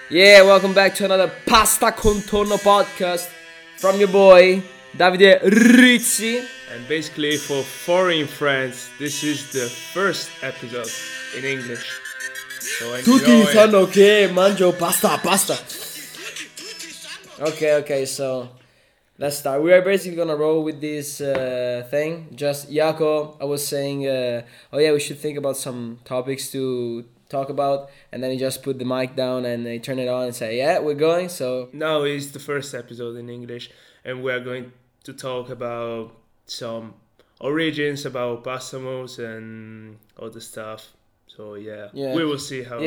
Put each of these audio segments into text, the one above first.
Yeah, welcome back to another Pasta Contorno podcast from your boy Davide Rizzi. And basically, for foreign friends, this is the first episode in English. So Tutti enjoy. sanno che mangio pasta. Okay, so let's start. We are basically gonna roll with this thing. Just Jaco, I was saying, we should think about some topics to talk about, and then he just put the mic down and he turned it on and say, yeah, we're going. So Now is the first episode in English, and we are going to talk about some origins, about Passamos and other stuff. So yeah, we will see how.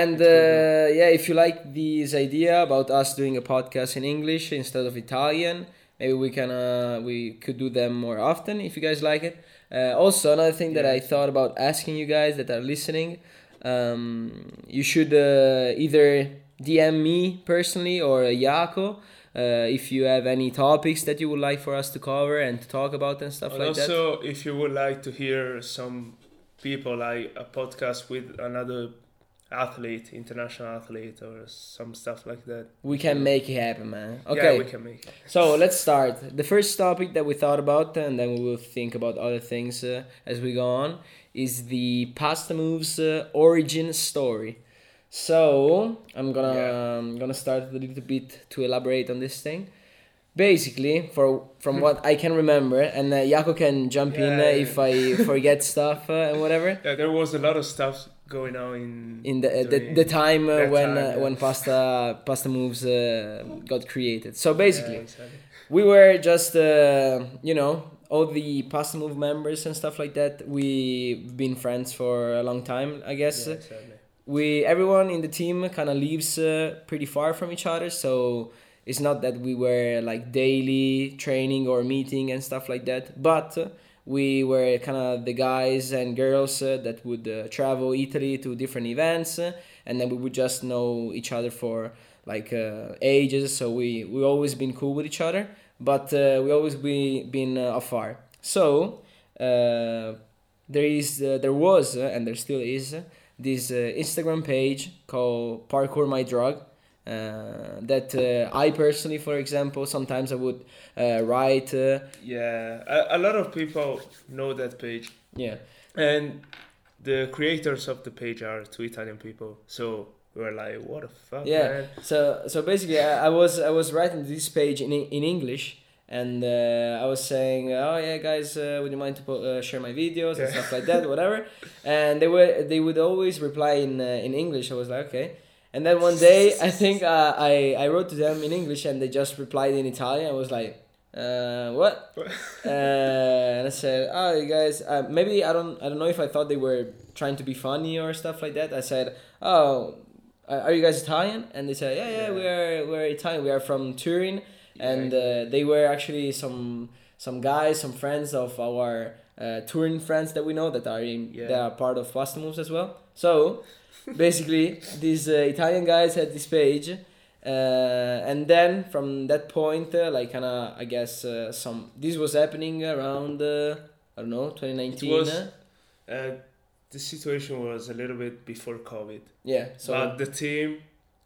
If you like this idea about us doing a podcast in English instead of Italian, maybe we could do them more often if you guys like it. Also, another thing that I thought about asking you guys that are listening, you should either DM me personally or Jaco if you have any topics that you would like for us to cover and to talk about and stuff And like that. also, if you would like to hear some people, like a podcast with another athlete, international athlete, or some stuff like that, We can make it happen, man. Okay. yeah, we can make it. So let's start. The first topic that we thought about, and then we will think about other things as we go on, is the Pasta Moves origin story. So I'm gonna start a little bit to elaborate on this thing. Basically, from what I can remember, and Jaco can jump in if I forget stuff and whatever. Yeah, there was a lot of stuff going on In the during time that when time, yeah. when Pasta Moves got created. So basically. Yeah, exactly. We were just, all the Pasta Move members and stuff like that. We've been friends for a long time, I guess. Yeah, exactly. Everyone in the team kind of lives pretty far from each other, so it's not that we were like daily training or meeting and stuff like that. But we were kind of the guys and girls that would travel Italy to different events, and then we would just know each other for like ages. So we always been cool with each other, but we always been afar. So there was and there still is this Instagram page called Parkour My Drug. That I personally, for example, sometimes I would write. Yeah, a lot of people know that page, Yeah, and the creators of the page are two Italian people. So we were like, "What the fuck, yeah. man?" So basically, I was writing this page in English, and I was saying, oh yeah, guys, would you mind to share my videos and stuff like that, whatever. And they would always reply in English. I was like, okay. And then one day, I think I wrote to them in English, and they just replied in Italian. I was like, what? And I said, oh, you guys, maybe I don't know if I thought they were trying to be funny or stuff like that. I said, oh, are you guys Italian? And they said, yeah, we're Italian. We are from Turin, and they were actually some guys, some friends of our Turin friends that we know that are part of Pasta Moves as well. So basically, these Italian guys had this page, and then from that point, this was happening around I don't know, 2019. It was, the situation was a little bit before COVID. Yeah. So But the team,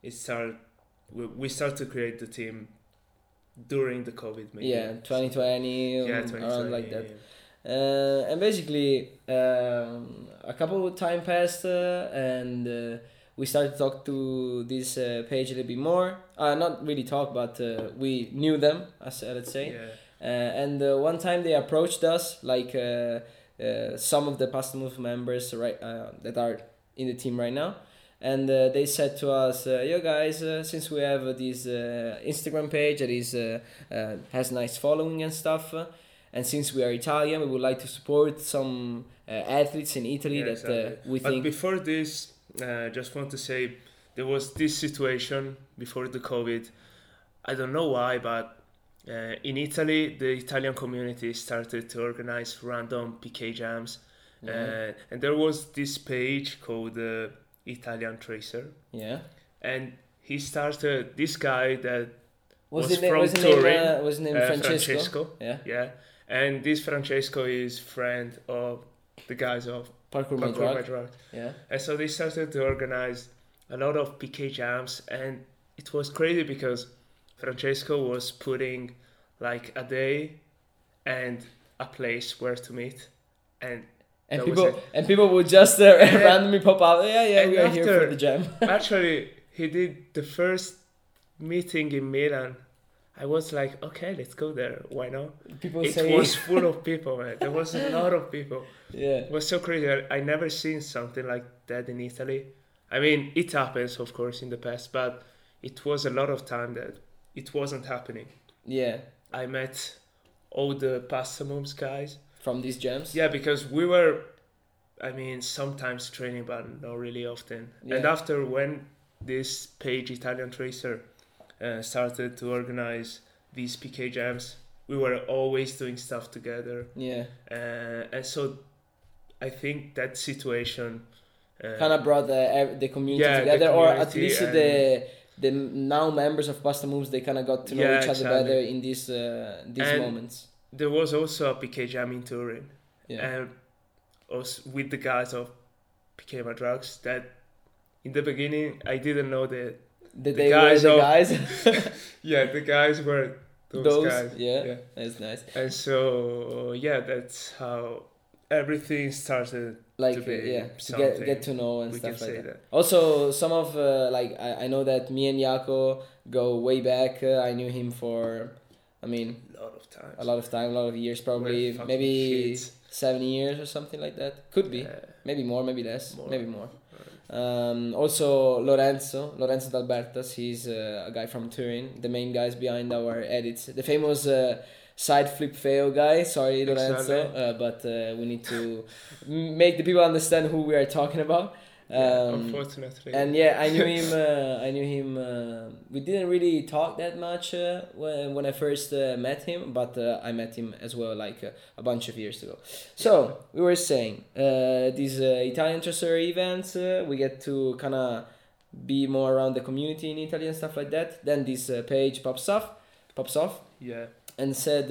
we started to create the team during the COVID. Maybe. yeah, 2020, Yeah, 2020. around like that. And basically, a couple of time passed, and we started to talk to this page a little bit more. Not really talk, but we knew them, let's say. Yeah. And one time they approached us, like some of the Pasta Move members, right, that are in the team right now. And they said to us, yo guys, since we have this Instagram page that is has nice following and stuff, and since we are Italian, we would like to support some athletes in Italy we But think. before this, just want to say there was this situation before the COVID. I don't know why, but in Italy, the Italian community started to organize random PK jams, and there was this page called Italian Tracer, Yeah. and he started this guy that Was was his from name Turin, was his name Francesco? Yeah. Yeah, and this Francesco is friend of the guys of Parkour My Parkour My Drug. Drug. Yeah. And so they started to organize a lot of PK jams, and it was crazy because Francesco was putting like a day and a place where to meet, and And that was people it. and people would just randomly pop up. Yeah, and we are here after- for the jam. Actually, he did the first meeting in Milan. I was like, okay, let's go there. Why not? People It say, was full of people, man. There was a lot of people. yeah, It was so crazy. I never seen something like that in Italy. I mean, it happens, of course, in the past, but it was a lot of time that it wasn't happening. yeah, I met all the Pasta Moves guys. from these jams. Yeah, because we were, I mean, sometimes training, but not really often. And Yeah. after when this page, Italian Tracer, started to organize these PK jams, we were always doing stuff together. Yeah, And so I think that situation kind of brought the community yeah, the together, or at community least and- the now members of Pasta Moves, they kind of got to know Yeah, each other exactly. better in these And- moments. there was also a PK jam in Turin. Yeah, And also with the guys of PK My Drugs that in the beginning I didn't know that the guys were the of- guys. the guys were those guys. yeah, that's nice. And so that's how everything started Like to be to something. get to know and We stuff can like say that. that. Also, some of like I know that me and Jaco go way back. I knew him for, I mean, A lot of times. a lot of time, a lot of years, probably fucking maybe kids. 7 years or something like that. Could be, maybe more, maybe less, More. maybe more. Also Lorenzo D'Albertas, he's a guy from Turin, the main guys behind our edits, the famous side flip fail guy. Sorry, Lorenzo, Exactly. but we need to make the people understand who we are talking about. Unfortunately. And yeah, I knew him. We didn't really talk that much when I first met him, but I met him as well like a bunch of years ago. So we were saying these Italian Tracer events, we get to kind of be more around the community in Italy and stuff like that. Then this page pops off, Yeah. and says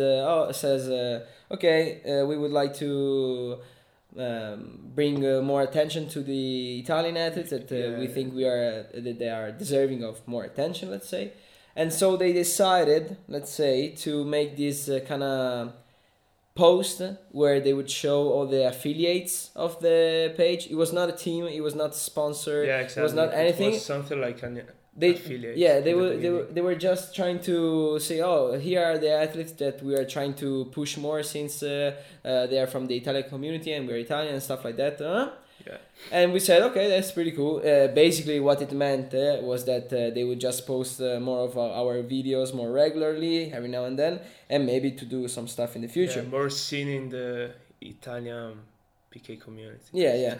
okay, we would like to bring more attention to the Italian athletes that we Yeah. think that they are deserving of more attention, let's say. And so they decided, let's say, to make this kind of post where they would show all the affiliates of the page. It was not a team, it was not sponsored, Yeah, exactly. it was not anything. It was something like an They affiliate. yeah, they in the were beginning. they were just trying to say, oh, here are the athletes that we are trying to push more since they are from the Italian community and we're Italian and stuff like that. Yeah. And we said, okay, that's pretty cool. Basically, what it meant was that they would just post more of our videos more regularly, every now and then, and maybe to do some stuff in the future. Yeah, more seen in the Italian PK community. Yeah.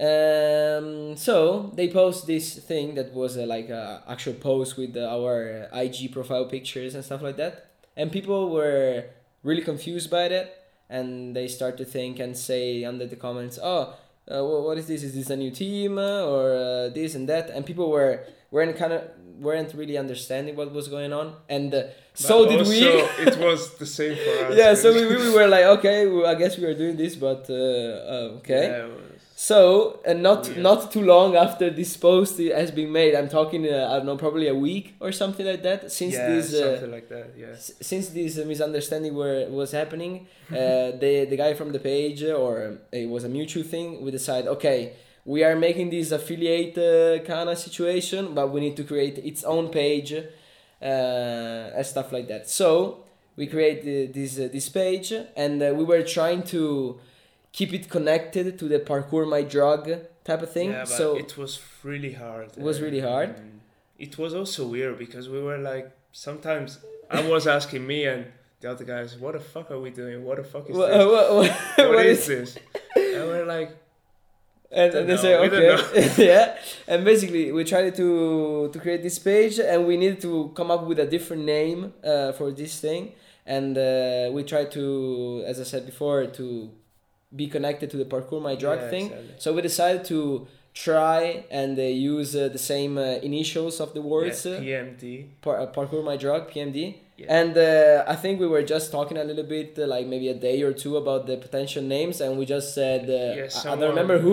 So they post this thing that was like a actual post with our IG profile pictures and stuff like that, and people were really confused by that, and they start to think and say under the comments, "Oh, what is this? Is this a new team or this and that?" And people weren't really understanding what was going on, and so But did we. also, it was the same for us. Yeah, so we were like, okay, I guess we are doing this, but okay. Yeah, it was- So, and not Weird. not too long after this post has been made, I'm talking, I don't know, probably a week or something like that. Since something like that. Yeah. since this misunderstanding was happening, the guy from the page, or it was a mutual thing, we decide, okay, we are making this affiliate kind of situation, but we need to create its own page, and stuff like that. So we create this page, and we were trying to keep it connected to the Parkour My Drug type of thing. Yeah, but So it was really hard. It was really hard? And it was also weird because we were like, sometimes I was asking me and the other guys, what the fuck are we doing? What the fuck is Wha- this? what What is this? And we're like, and Don't they know, say we don't okay. Yeah, and basically we tried to create this page, and we needed to come up with a different name for this thing, and we tried to, as I said before, to be connected to the Parkour My Drug yeah, thing. exactly. So we decided to try and use the same initials of the words. Yeah, PMD. Parkour My Drug, PMD. Yeah. And I think we were just talking a little bit, like maybe a day or two, about the potential names, and we just said, I don't someone- remember who,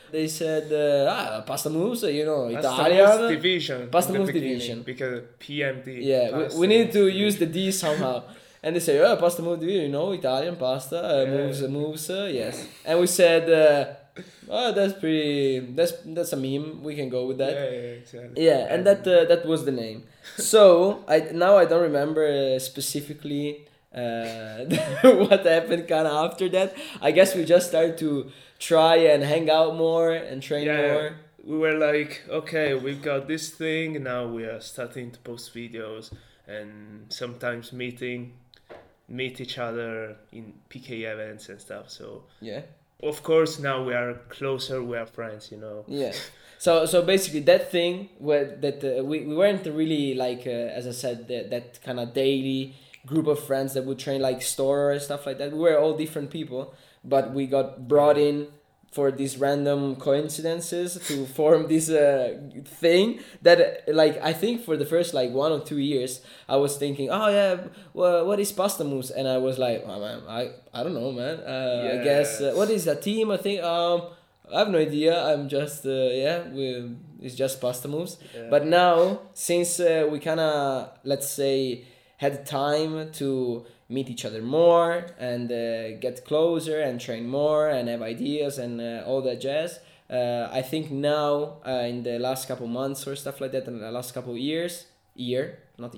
They said, pasta moves, Italian. Pasta division. Pasta moves division. Because PMD. Yeah, we need to use the D somehow. And they say, pasta moves division, Italian pasta, moves, yes. And we said, that's a meme. We can go with that. Yeah, exactly. Yeah, and that was the name. So I don't remember specifically what happened kind of after that. I guess we just started to try and hang out more and train more. We were like, okay, we've got this thing. Now we are starting to post videos and sometimes meet each other in PK events and stuff. So yeah. Of course, now we are closer. We are friends, Yeah. So basically, that thing we weren't really like as I said that kind of daily group of friends that would train like store and stuff like that. We were all different people, but we got brought in for these random coincidences to form this thing that like I think for the first like 1 or 2 years I was thinking, oh yeah, well, what is Pasta Moves? And I was like, oh, man, I don't know, man. I guess what is a team? I think I have no idea. I'm just it's just Pasta Moves. Yeah. But now since we kind of, let's say, had time to meet each other more and get closer and train more and have ideas and all that jazz. I think now in the last couple months or stuff like that, in the last couple years, we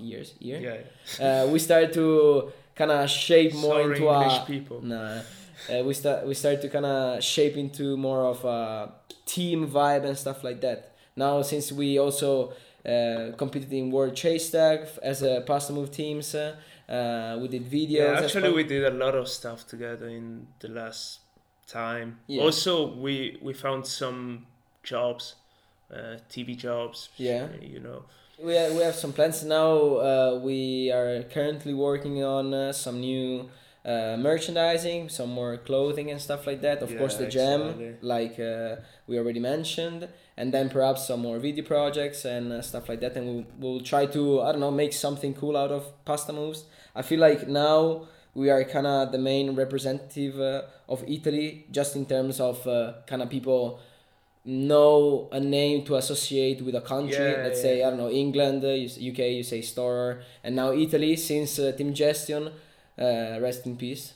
started to kind of shape more into English people. We start to kind of shape into more of a team vibe and stuff like that. Now since we also competed in World Chase Tag as a Pasta Move teams. We did videos. Yeah, actually, we did a lot of stuff together in the last time. Yeah. Also, we found some jobs, TV jobs. Yeah. We have some plans now. We are currently working on some new merchandising, some more clothing and stuff like that. Of course, the jam, like we already mentioned. And then perhaps some more video projects and stuff like that. And we'll try to, make something cool out of Pasta Moves. I feel like now we are kind of the main representative of Italy, just in terms of kind of people know a name to associate with a country. Let's say, England, UK, you say Storer. And now Italy, since Team Gestion, rest in peace.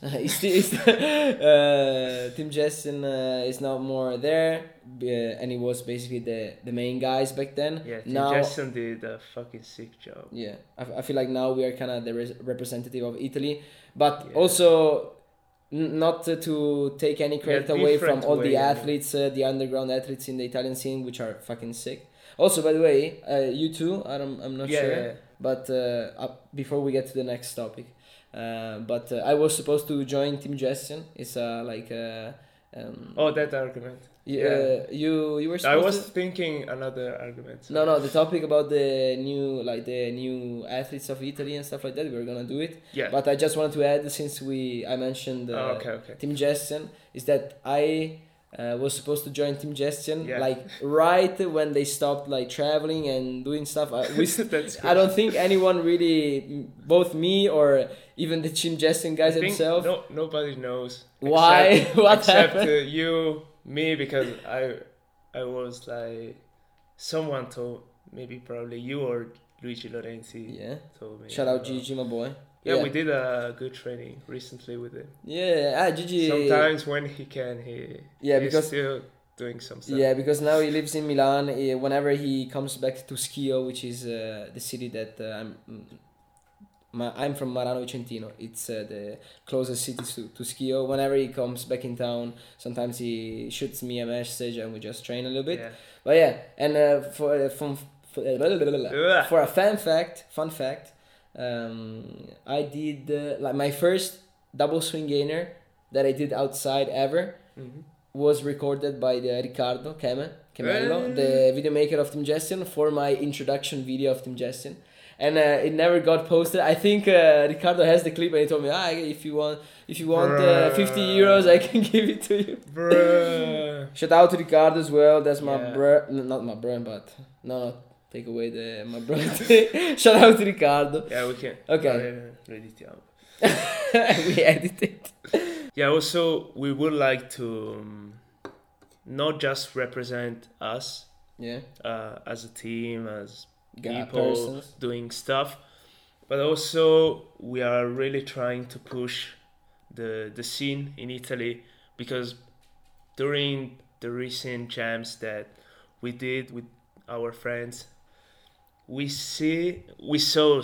Team Gestion is now more there, and he was basically the main guys back then. Yeah, Team Gestion did a fucking sick job. Yeah, I feel like now we are kind of the representative of Italy, but also not to take any credit away from all the athletes, the underground athletes in the Italian scene, which are fucking sick. Also, by the way, you too. I'm not sure, but before we get to the next topic. But I was supposed to join Team Gestion. It's that argument. You were supposed I was thinking another argument. So. No, the topic about the new athletes of Italy and stuff like that. We were gonna do it. Yeah. But I just wanted to add, since I mentioned Team Gestion, is that I was supposed to join Team Gestion like right when they stopped like traveling and doing stuff. I don't think anyone really, both me or even the Team Gestion guys themselves. Nobody knows why. What happened? Except you, me, because I was like, someone told, maybe probably you or Luigi Lorenzi. Yeah. Told me. Shout out Gigi, my boy. Yeah, we did a good training recently with him. Yeah, Gigi. Sometimes when he can, he's still doing some stuff. Yeah, because now he lives in Milan. Whenever he comes back to Schio, which is the city that I'm from, Marano Vicentino. It's the closest city to Schio. Whenever he comes back in town, sometimes he shoots me a message and we just train a little bit. Yeah. But yeah, and for a fun fact. I did like my first double swing gainer that I did outside ever was recorded by the Riccardo Chemello, the video maker of Team Gestion, for my introduction video of Team Gestion, and it never got posted. I think Riccardo has the clip, and he told me, if you want 50 euros, I can give it to you. Shout out to Riccardo as well. That's my not my bro, but no. Take away my brother. Shout out to Riccardo. Yeah, we can. Okay. We edit it. Yeah, also, we would like to not just represent us Yeah. as a team, as Got people persons. doing stuff, but also we are really trying to push the scene in Italy, because during the recent jams that we did with our friends, we saw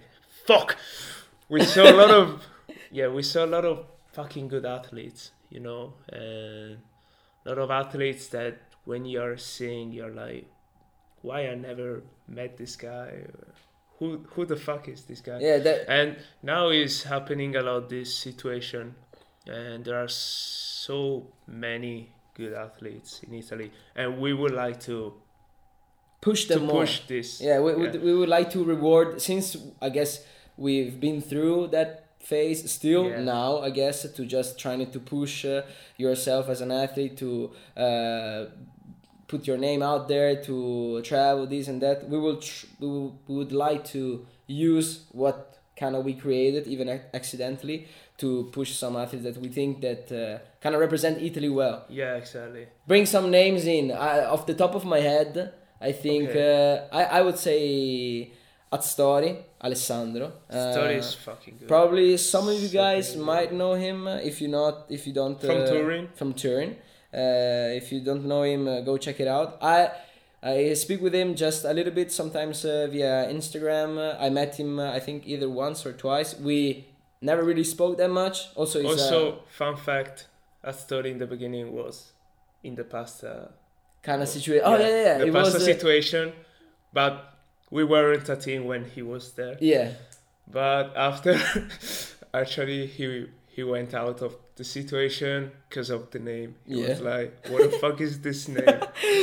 a lot of we saw a lot of fucking good athletes, you know, and a lot of athletes that when you're seeing, you're like, why I never met this guy? Who the fuck is this guy? Yeah, And now is happening a lot, this situation, and there are so many good athletes in Italy, and we would like to push them more. Push this. Yeah, we would like to reward, since I guess we've been through that phase still now, I guess, to just trying to push yourself as an athlete to put your name out there, to travel, this and that. We would like to use what kind of we created, even accidentally, to push some athletes that we think that kind of represent Italy well. Yeah, exactly. Bring some names in. Off the top of my head, I think I would say Astori, Alessandro. Astori is fucking good. Probably some of you guys might know him. If you don't from Turin. From Turin. If you don't know him, go check it out. I speak with him just a little bit, sometimes via Instagram. I met him, I think, either once or twice. We never really spoke that much. Also, fun fact, Astori in the beginning was in the pasta kind of situation. Oh, yeah. The pasta situation, but we weren't a team when he was there. Yeah. But after, actually, he went out of the situation because of the name. He was like, what the fuck is this name?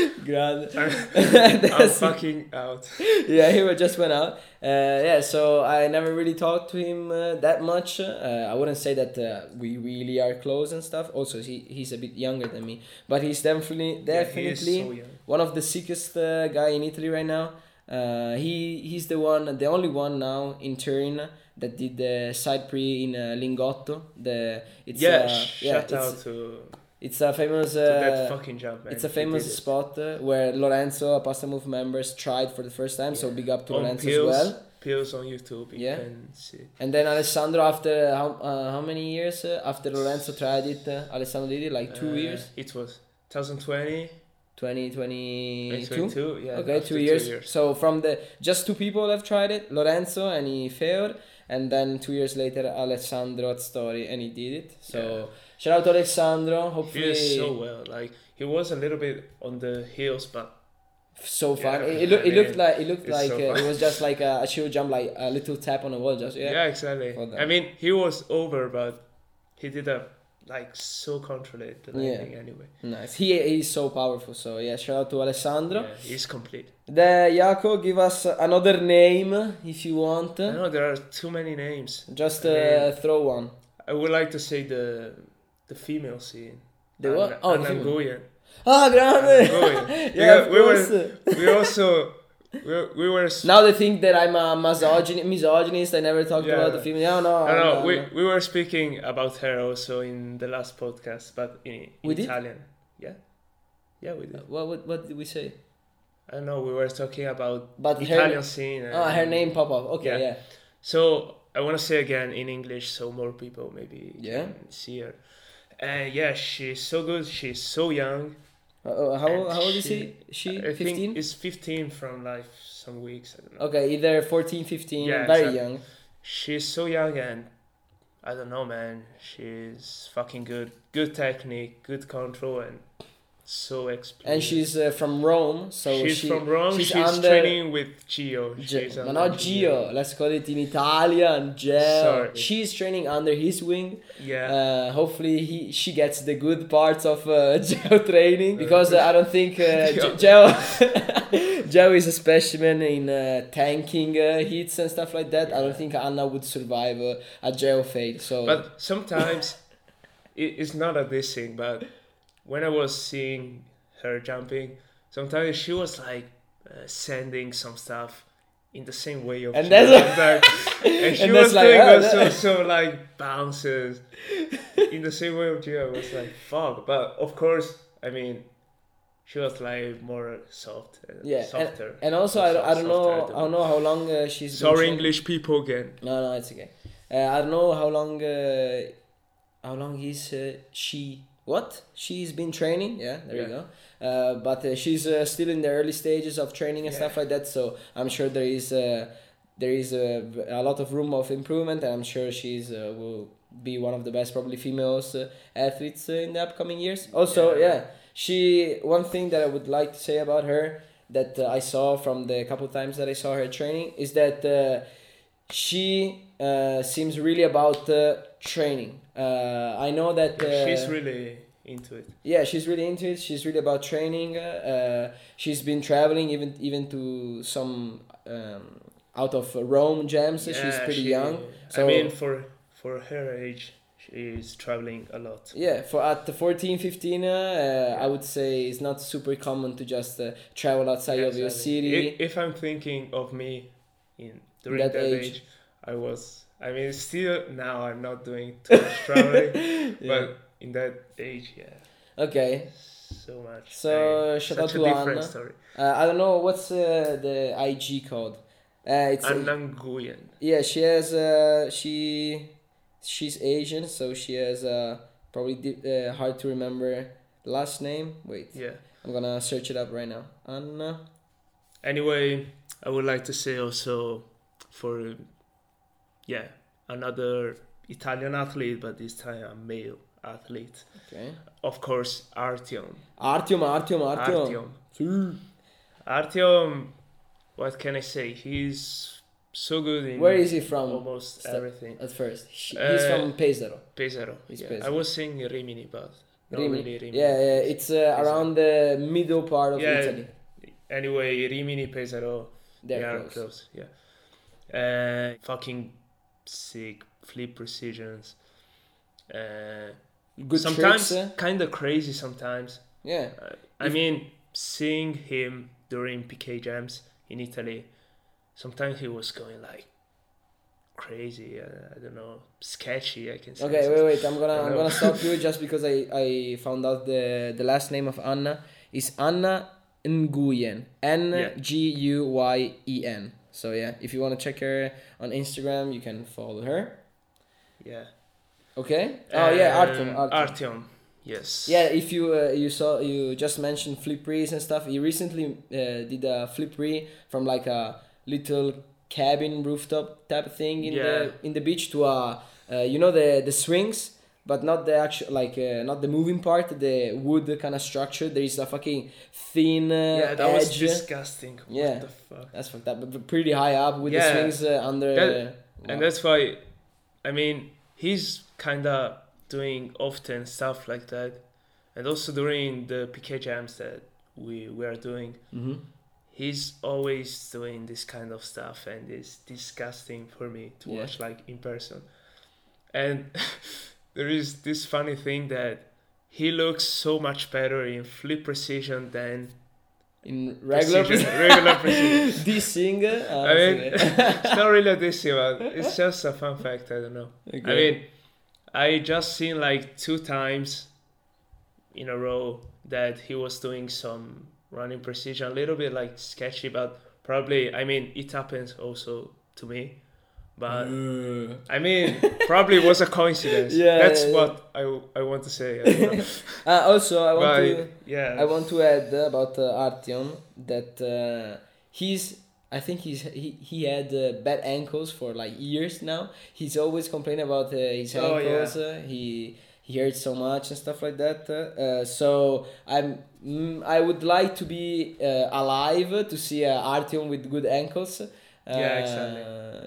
I'm fucking out. Yeah, he just went out. So I never really talked to him that much. I wouldn't say that we really are close and stuff. Also, he's a bit younger than me. But he's definitely he is so young. One of the sickest guy in Italy right now. He's the only one now in Turin that did the side pre in Lingotto. Shout out to. It's a famous. That fucking jump, man. It's a famous spot where Lorenzo, a Pasta Move members, tried for the first time. So big up to Lorenzo as well. Pills on YouTube. You can see. And then Alessandro, after how many years after Lorenzo tried it, Alessandro did it, like 2 years. It was 2020. 2022? Yeah. Okay, 2 years. So from just two people have tried it, Lorenzo and Feor, and then 2 years later Alessandro Astori, and he did it. So shout out to Alessandro. Hopefully he is so well. Like, he was a little bit on the heels, but so fun. It looked like it was just like a shield jump, like a little tap on the wall. Just exactly. I mean, he was over, but he did so controlled the landing anyway. Nice. He's so powerful. So shout out to Alessandro. Yeah, he's complete. Jaco, give us another name if you want. I know there are too many names. Just throw one. I would like to say the female scene. The what? Anna Nguyen. Ah, grande! Yeah, we were. Now they think that I'm a misogynist. I never talked about the female. No. We were speaking about her also in the last podcast, but in Italian. Yeah, we did. What did we say? I don't know. We were talking about Italian scene. Her name pop up. Okay, yeah. So I want to say again in English, so more people maybe can see her. She's so good. She's so young. How old is she? I 15? think it's 15 from some weeks. I don't know. Okay, either 14, 15, very young. She's so young, and I don't know, man. She's fucking good. Good technique, good control, and so experienced. And she's from Rome, so she's from Rome. She's training with Gio. But not Gio. Let's call it in Italian. Gio. Sorry. She's training under his wing. Yeah. Hopefully she gets the good parts of Gio training, because I don't think Gio is a specimen in tanking hits and stuff like that. I don't think Anna would survive a Gio fade. So. But sometimes it's not a dissing, but when I was seeing her jumping, sometimes she was sending some stuff in the same way of and she was doing also bounces in the same way of Gio. I was like, fuck. But of course, I mean, she was like more soft, Yeah, softer. and also I don't know how long she's been Sorry, training. English people again. No, it's okay. I don't know how long is she's been training. Yeah, there you go. But she's still in the early stages of training and stuff like that. So I'm sure there is a lot of room of improvement, and I'm sure she's will be one of the best probably females athletes in the upcoming years. Also, one thing that I would like to say about her that I saw from the couple times that I saw her training is that she seems really about training. I know that she's really into it. Yeah, she's really into it. She's really about training. She's been traveling even to some out of Rome jams. She's pretty young. So I mean, for her age, she's traveling a lot. Yeah, at 14, 15, I would say it's not super common to just travel outside of your city. If I'm thinking of me during that age, still now I'm not doing too much traveling, but in that age, Okay. So much. So shout out to Anna. Story. I don't know what's the IG code. It's Anna Nguyen. Yeah, she has she's Asian, so she has probably hard to remember last name. Wait. Yeah. I'm gonna search it up right now. Anna. Anyway, I would like to say also for another Italian athlete, but this time a male athlete. Okay. Of course, Artyom. Artyom. Artyom, what can I say? He's so good in Where is he from? Almost everything. At first. He's from Pesaro. Pesaro. Pesaro. I was saying Rimini, but not really Rimini. Yeah, it's around the middle part of Italy. Anyway, Rimini, Pesaro, they are close. Yeah. Fucking sick flip precisions. Good sometimes tricks, kind of crazy sometimes. Yeah. I mean, seeing him during PK jams in Italy, sometimes he was going like crazy. I don't know, sketchy. I can say. Okay, wait. I'm gonna stop you just because I found out the last name of Anna is Anna Nguyen. Nguyen. So yeah, if you want to check her on Instagram, you can follow her. Yeah. Okay. Artyom. Yes. Yeah, if you just mentioned flip rees and stuff. He recently did a flip ree from like a little cabin rooftop type of thing in the beach to the swings, but not the actual not the moving part, the wood kind of structure. There is a fucking thin that edge. Was disgusting. What the fuck? That's fucked up. But pretty high up with the swings under. And that's why, I mean, he's kind of doing often stuff like that, and also during the PK jams that we are doing, he's always doing this kind of stuff, and it's disgusting for me to watch like in person. And there is this funny thing that he looks so much better in flip precision than in regular precision. Dissing. I mean, it's not really a dissing, but it's just a fun fact. I don't know. Okay. I mean, I just seen like 2 times in a row that he was doing some running precision, a little bit like sketchy, but probably, I mean, it happens also to me. But I mean, probably was a coincidence. That's what I want to say. Also, I want to add about Artyom that I think he had bad ankles for like years now. He's always complaining about his ankles. He hurts so much and stuff like that. So I would like to be alive to see Artyom with good ankles. Exactly.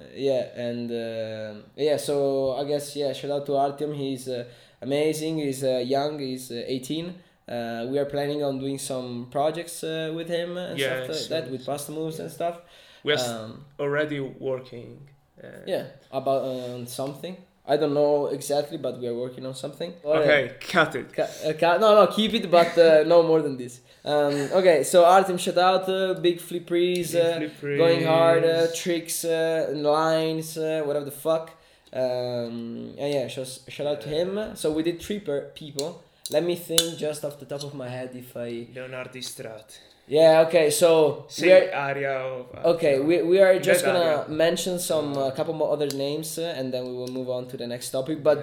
So I guess shout out to Artyom. He's amazing. He's young. He's 18. We are planning on doing some projects with him and stuff like that, with pasta moves and stuff. We're already working. About something. I don't know exactly, but we are working on something. Okay, cut it. No, keep it, but no more than this. Okay, so Artyom, shout out, big flip rees, going hard, tricks, lines, whatever the fuck. Shout out to him. So we did 3 people. Let me think just off the top of my head if I... Leonardo Strat. Yeah, okay, so... Same area of... Okay, we are just that gonna area. mention some couple more other names and then we will move on to the next topic. But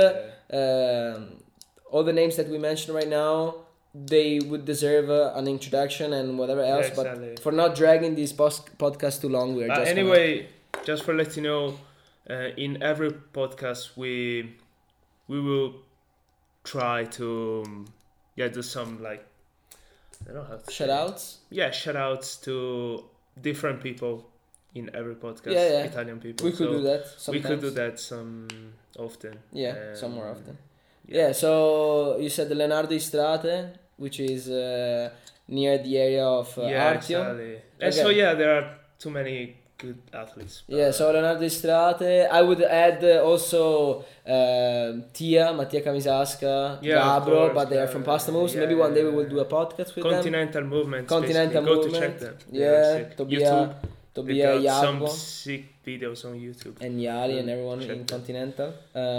all the names that we mentioned right now, they would deserve an introduction and whatever else. Yeah, exactly. But for not dragging this podcast too long, we are just anyway, just for let you know, in every podcast we will try to do some like I don't know how to shout outs. Yeah, shout outs to different people in every podcast. Yeah. Italian people. We could do that. Sometimes. We could do that some often. Yeah, some more often. Yeah. So you said the Leonardo Istrate, which is near the area of Artio. Exactly. And so there are too many good athletes. Yeah, so Leonardo Istrate. I would add also Mattia Camisasca, Gabro, but they are from Pasta Moves. Maybe one day we will do a podcast with Continental them. Movement. Continental Movement. Movement. Go to check them. Yeah, YouTube. Tobia They got Jacopo. some sick videos on YouTube. And Yali and everyone check in them. Continental.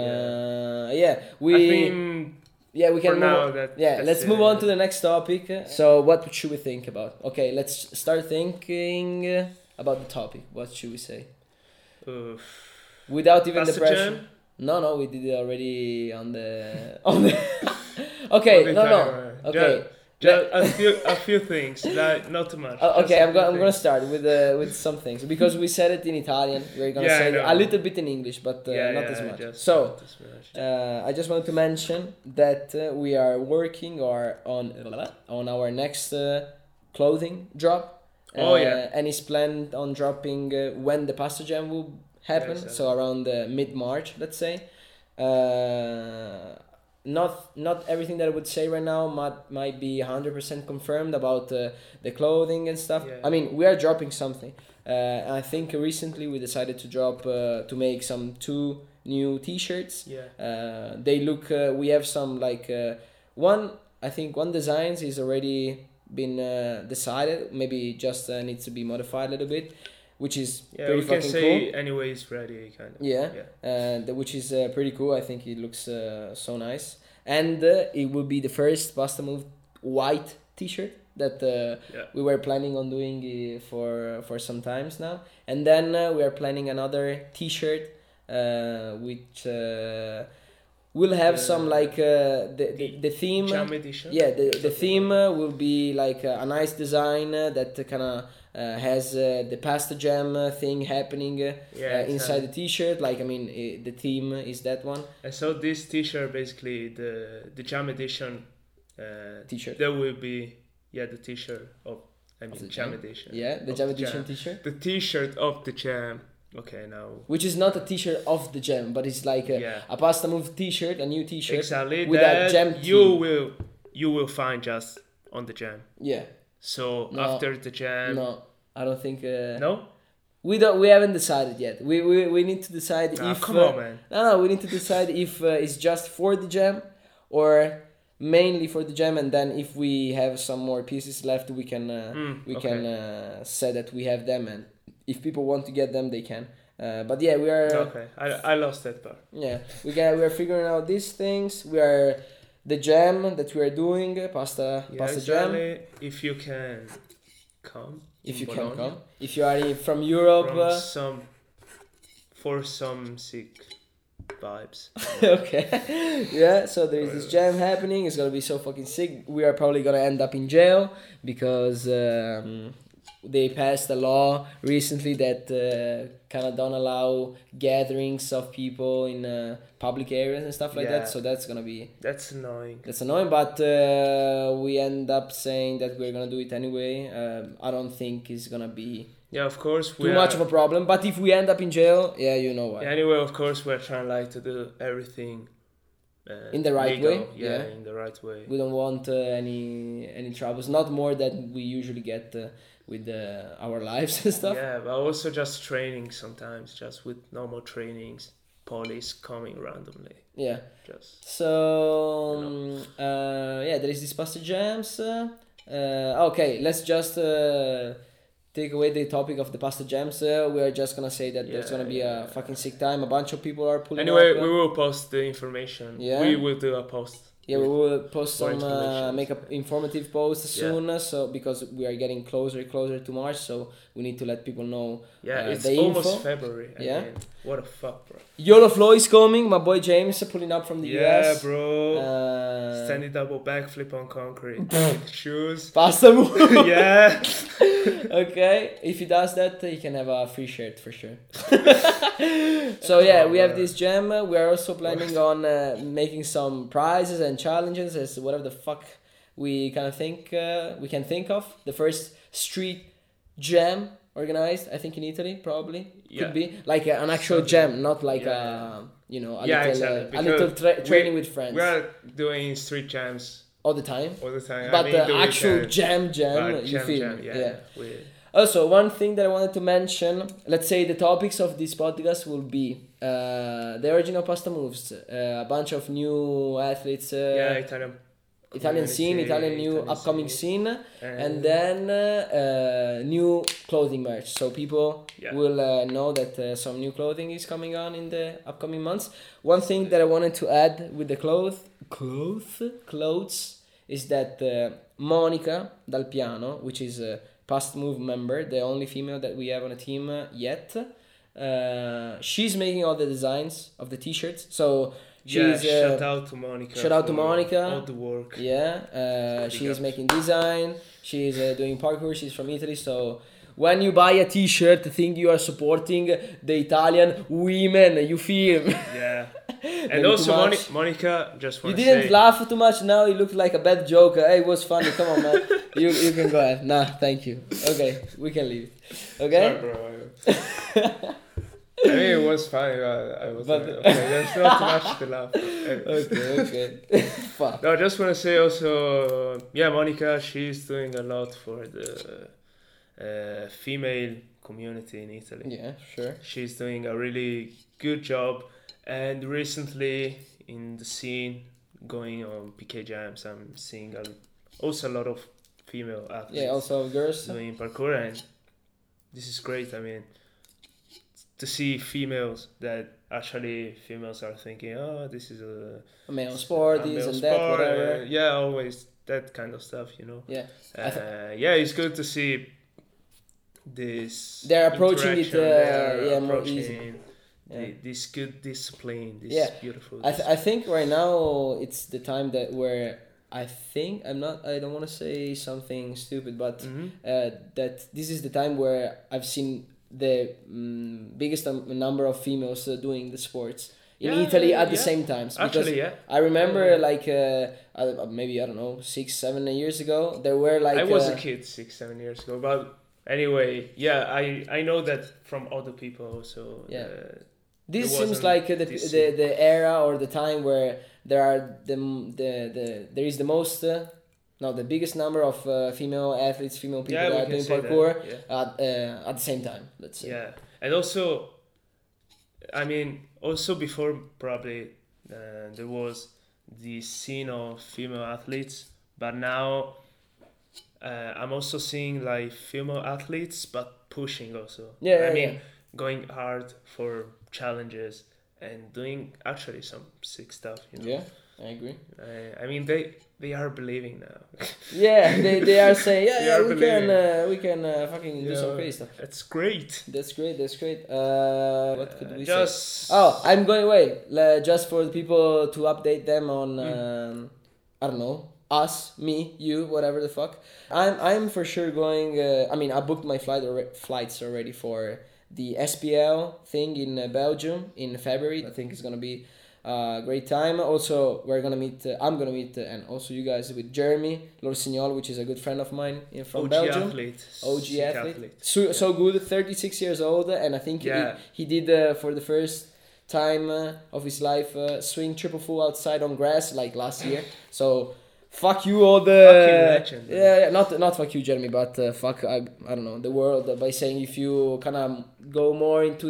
I think we can move. Let's move on to the next topic. So what should we think about? Okay, let's start thinking about the topic. What should we say? Without even the pressure. Jam? No, we did it already on the Okay, no. Okay. Just a few things, like not too much. Okay, I'm gonna start with some things because we said it in Italian. We're gonna say it a little bit in English, but not as much. So I just wanted to mention that we are working on our next clothing drop. And it's planned on dropping when the Pasta Jam will happen. Exactly. So around mid-March, let's say. Not everything that I would say right now might be 100% confirmed about the clothing and stuff. Yeah. I mean, we are dropping something. I think recently we decided to drop to make some 2 new T-shirts. Yeah. They look. We have some like one. I think one designs is already been decided. Maybe just needs to be modified a little bit. Which is pretty fucking cool. We can say anyway it's ready, kind of. Yeah. Which is pretty cool. I think it looks so nice. And it will be the first Pasta Move white T-shirt that we were planning on doing for some times now. And then we are planning another T-shirt which will have some like the theme. Jam edition. Yeah, the theme will be like a nice design that kind of has the Pasta Jam thing happening inside the T-shirt. Like, I mean, the theme is that one. And so this T-shirt, basically, the Jam edition T-shirt. There will be the T-shirt of the Jam edition. Yeah, the Jam edition T-shirt. The T-shirt of the Jam. Okay, now. Which is not a T-shirt of the Jam, but it's like a Pasta Move T-shirt, a new T-shirt. Exactly. With a Jam theme. You will find just on the Jam. Yeah. So after the Jam. No, I don't think. No. We haven't decided yet. We need to decide if. Come on, man. No. We need to decide if it's just for the Jam, or mainly for the Jam, and then if we have some more pieces left, we can can say that we have them, and if people want to get them, they can. But yeah, we are. Okay, I lost that part. Yeah, we are figuring out these things. We are the Jam that we are doing, pasta Jam. If you can come. If you can come. If you are from Europe. For some sick vibes. Okay. Yeah, so there is this Jam happening. It's gonna be so fucking sick. We are probably gonna end up in jail because they passed a law recently that kind of don't allow gatherings of people in public areas and stuff like that. So that's gonna be. That's annoying. That's annoying, but we end up saying that we're gonna do it anyway. I don't think it's gonna be. Yeah, of course. Too much of a problem, but if we end up in jail, you know why. Yeah, anyway, of course, we're trying to do everything in the right legal. way. Yeah, in the right way. We don't want any troubles, not more than we usually get with our lives and stuff. Yeah, but also just training sometimes, just with normal trainings, police coming randomly. Yeah. Just. So there is this Pasta Jams. Okay, let's just. Take away the topic of the Pasta Jams. We are just gonna say that there's gonna be a fucking sick time. A bunch of people are pulling up. Anyway, we will post the information. Yeah. We will do a post Yeah, we will post more some information. make up informative posts soon. So because we are getting closer to March, so we need to let people know. Yeah, it's the almost info. February. I mean, what the fuck, bro. YOLO Flow is coming. My boy James pulling up from the US. Yeah, bro. Standing double backflip on concrete with shoes. Pasta move. Yeah. Okay, if he does that, he can have a free shirt for sure. So yeah, we have this jam. We are also planning on making some prizes and challenges as whatever the fuck we kind of think we can think of. The first street jam organized, I think in Italy, probably could be like an actual jam, not like a little exactly. a little training with friends. We are doing street jams all the time. But the actual jam, you feel? Yeah. Also, one thing that I wanted to mention, let's say the topics of this podcast will be the original Pasta Moves, a bunch of new athletes, Italian scene, Italian upcoming scene, and then new clothing merch. So people will know that some new clothing is coming on in the upcoming months. One thing that I wanted to add with the clothes is that Monica Dal Piano, which is Past Move member, the only female that we have on a team yet. She's making all the designs of the t-shirts. So she's shout out to Monica. Shout out to Monica. All the work. Yeah, she's making design. She's doing parkour. She's from Italy. So when you buy a t-shirt, think you are supporting the Italian women. You feel? Yeah. And also Monica, just want to say... You didn't laugh too much now, you look like a bad joke. Hey, it was funny, come on man. you can go ahead. Nah, thank you. Okay, we can leave. Okay? Sorry, bro. I mean, it was funny, I was okay, there's not too much to laugh. Okay. Fuck. No, I just want to say also, Monica, she's doing a lot for the female community in Italy. Yeah, sure. She's doing a really good job. And recently in the scene, going on PK Jams, I'm seeing also a lot of female athletes. Yeah, also girls. Doing parkour, and this is great. I mean, to see females are thinking, oh, this is a male sport, this and that, whatever. Always that kind of stuff, you know. Yeah. It's good to see this. They're approaching it more easy. This good discipline, this beautiful discipline. I think right now it's the time where I don't want to say something stupid, but that this is the time where I've seen the biggest number of females doing the sports in Italy at the same time. Actually, I remember maybe, I don't know, 6-7 years ago, there were like... I was a kid 6-7 years ago, but anyway, I know that from other people also. Yeah. This seems like the era or the time where there are there is the most the biggest number of female athletes, female people that are doing parkour at the same time. Let's say. Yeah, and also, I mean, also before probably there was the scene of female athletes, but now I'm also seeing like female athletes, but pushing also. Going hard for challenges and doing actually some sick stuff, you know. Yeah, I agree. I mean, they are believing now. Yeah, they are saying, we can fucking do some crazy stuff. That's great. That's great. What could we say? Oh, I'm going away. Just for the people to update them on, I don't know, us, me, you, whatever the fuck. I'm for sure going. I booked my flights already for the SPL thing in Belgium in February. I think it's gonna be a great time. Also, I'm gonna meet, and also you guys, with Jeremy Lorsignol, which is a good friend of mine from Belgium. OG athlete. So good, 36 years old, and I think he did for the first time of his life swing triple full outside on grass like last year. So fuck you all the legend, not fuck you Jeremy, but fuck I don't know, the world, by saying if you kind of go more into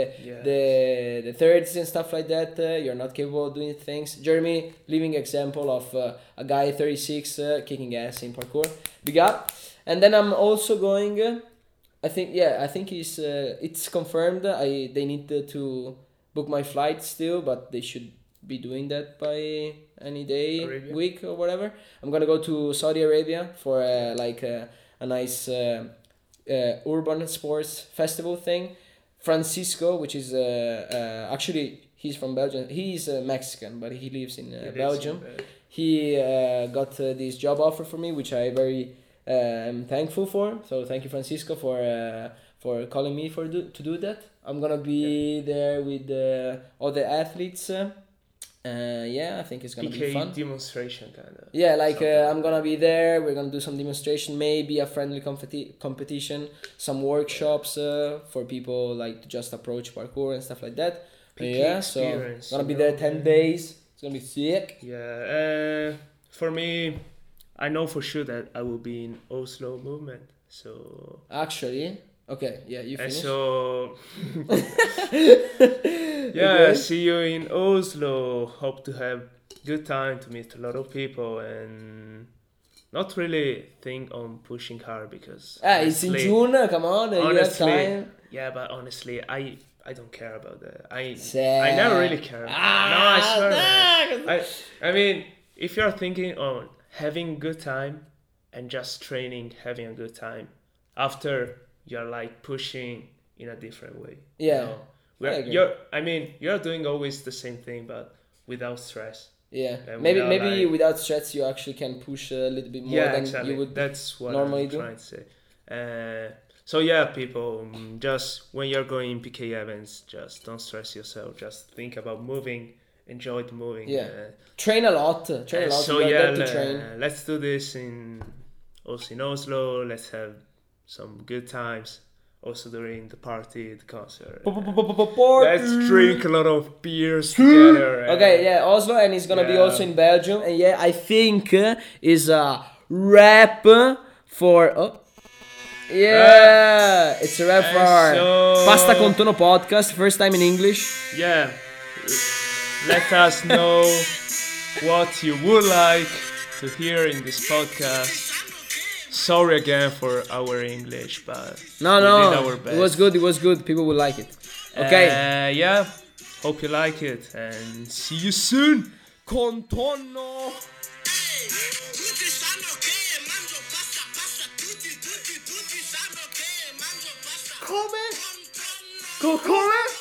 the thirds and stuff like that, you're not capable of doing things. Jeremy, living example of a guy 36 kicking ass in parkour. Big up. And then I'm also going I think it's confirmed. They need to book my flight still, but they should be doing that by any day, Arabia. week or whatever. I'm gonna go to Saudi Arabia for a nice urban sports festival thing. Francisco, which is actually he's from Belgium. He's Mexican, but he lives in Belgium. He got this job offer for me, which I very am thankful for. So thank you, Francisco, for calling me to do that. I'm gonna be there with all the athletes. I think it's gonna be fun. Demonstration kind of. Yeah, I'm gonna be there. We're gonna do some demonstration, maybe a friendly competition, some workshops for people like to just approach parkour and stuff like that. So gonna be there 10 days. It's gonna be sick. Yeah, for me, I know for sure that I will be in Oslo movement. So actually, okay, yeah, you finish. So yeah, okay. See you in Oslo. Hope to have good time, to meet a lot of people, and not really think on pushing hard because it's in June. Come on, honestly, you have time. Yeah, but honestly, I don't care about that. I never really care. No, I swear. I mean, if you're thinking on having good time and just training, having a good time, after you're like pushing in a different way. Yeah. You're doing always the same thing, but without stress. Yeah. Maybe without stress you actually can push a little bit more than you would. That's what normally I'm trying to say. So yeah, people, just when you're going PK events, just don't stress yourself. Just think about moving, enjoy the moving. Yeah. Train a lot. So let's do this also in Oslo. Let's have some good times. Also during the party, the concert. Let's drink a lot of beers together. Okay, yeah, Oslo, and it's gonna be also in Belgium. And yeah, I think is a wrap for. Oh. Yeah, it's a wrap for our Pasta con Tono podcast. First time in English. Yeah, let us know what you would like to hear in this podcast. Sorry again for our English, but we did our best. It was good. People will like it. Okay. Hope you like it, and see you soon. Con Tono. Come?